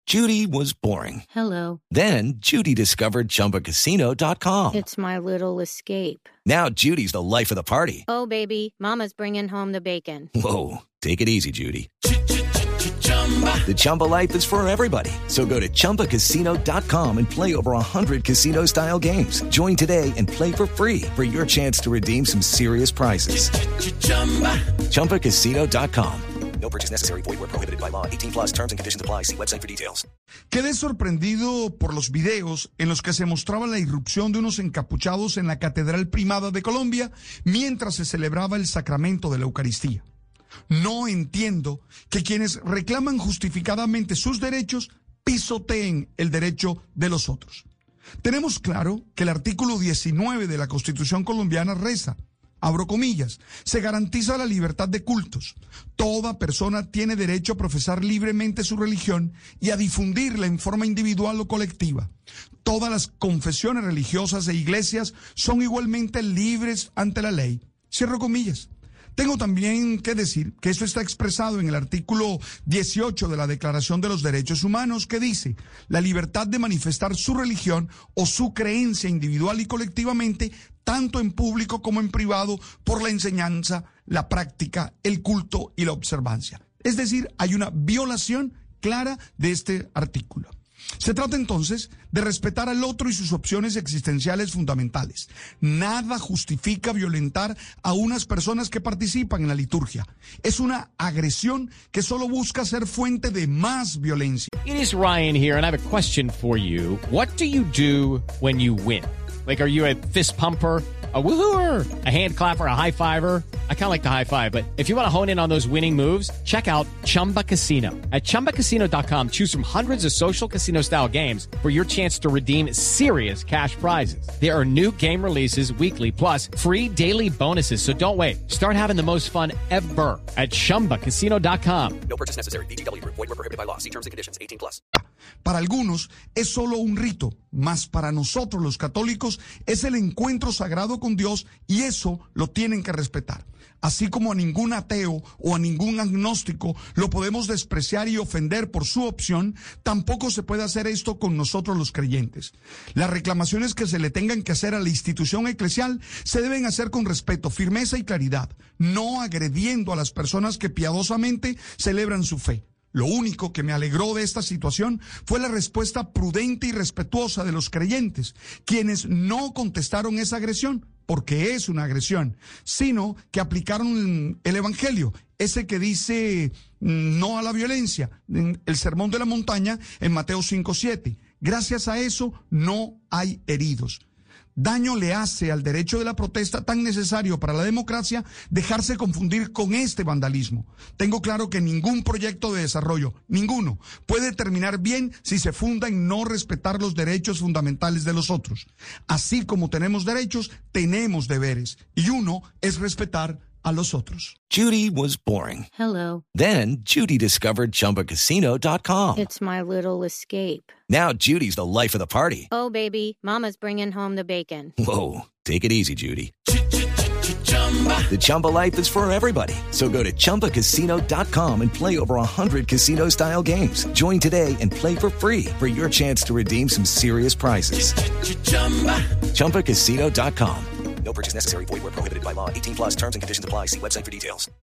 Judy was boring. Hello. Then Judy discovered ChumbaCasino.com. It's my little escape. Now Judy's the life of the party. Oh, baby, mama's bringing home the bacon. Whoa, take it easy, Judy. The Chumba life is for everybody. So go to ChumbaCasino.com and play over 100 casino-style games. Join today and play for free for your chance to redeem some serious prizes. ChumbaCasino.com. No purchase necessary. Void where prohibited by law. 18 plus terms and conditions apply. See website for details. Quedé sorprendido por los videos en los que se mostraba la irrupción de unos encapuchados en la Catedral Primada de Colombia mientras se celebraba el sacramento de la Eucaristía. No entiendo que quienes reclaman justificadamente sus derechos pisoteen el derecho de los otros. Tenemos claro que el artículo 19 de la Constitución colombiana reza, abro comillas, se garantiza la libertad de cultos. Toda persona tiene derecho a profesar libremente su religión y a difundirla en forma individual o colectiva. Todas las confesiones religiosas e iglesias son igualmente libres ante la ley. Cierro comillas. Tengo también que decir que esto está expresado en el artículo 18 de la Declaración de los Derechos Humanos, que dice la libertad de manifestar su religión o su creencia individual y colectivamente, tanto en público como en privado, por la enseñanza, la práctica, el culto y la observancia. Es decir, hay una violación clara de este artículo. Se trata entonces de respetar al otro y sus opciones existenciales fundamentales. Nada justifica violentar a unas personas que participan en la liturgia. Es una agresión que solo busca ser fuente de más violencia. It is Ryan here, and I have a question for you. What do you do when you win? Like, are you a fist pumper, a woohooer, a hand clapper, a high fiver? I kind of like the high five, but if you want to hone in on those winning moves, check out Chumba Casino. At ChumbaCasino.com, choose from hundreds of social casino-style games for your chance to redeem serious cash prizes. There are new game releases weekly, plus free daily bonuses, so don't wait. Start having the most fun ever at ChumbaCasino.com. No purchase necessary. VGW Group. Void where prohibited by law. See terms and conditions. 18 plus. Para algunos es solo un rito, mas para nosotros los católicos es el encuentro sagrado con Dios y eso lo tienen que respetar. Así como a ningún ateo o a ningún agnóstico lo podemos despreciar y ofender por su opción, tampoco se puede hacer esto con nosotros los creyentes. Las reclamaciones que se le tengan que hacer a la institución eclesial se deben hacer con respeto, firmeza y claridad, no agrediendo a las personas que piadosamente celebran su fe. Lo único que me alegró de esta situación fue la respuesta prudente y respetuosa de los creyentes, quienes no contestaron esa agresión, porque es una agresión, sino que aplicaron el Evangelio, ese que dice no a la violencia, el Sermón de la Montaña en Mateo 5:7. Gracias a eso no hay heridos. Daño le hace al derecho de la protesta tan necesario para la democracia dejarse confundir con este vandalismo. Tengo claro que ningún proyecto de desarrollo, ninguno, puede terminar bien si se funda en no respetar los derechos fundamentales de los otros. Así como tenemos derechos, tenemos deberes, y uno es respetar a los otros. Judy was boring. Hello. Then Judy discovered ChumbaCasino.com. It's my little escape. Now Judy's the life of the party. Oh, baby, mama's bringing home the bacon. Whoa, take it easy, Judy. The Chumba life is for everybody. So go to ChumbaCasino.com and play over 100 casino-style games. Join today and play for free for your chance to redeem some serious prizes. ChumbaCasino.com. No purchase necessary. Void where prohibited by law. 18 plus terms and conditions apply. See website for details.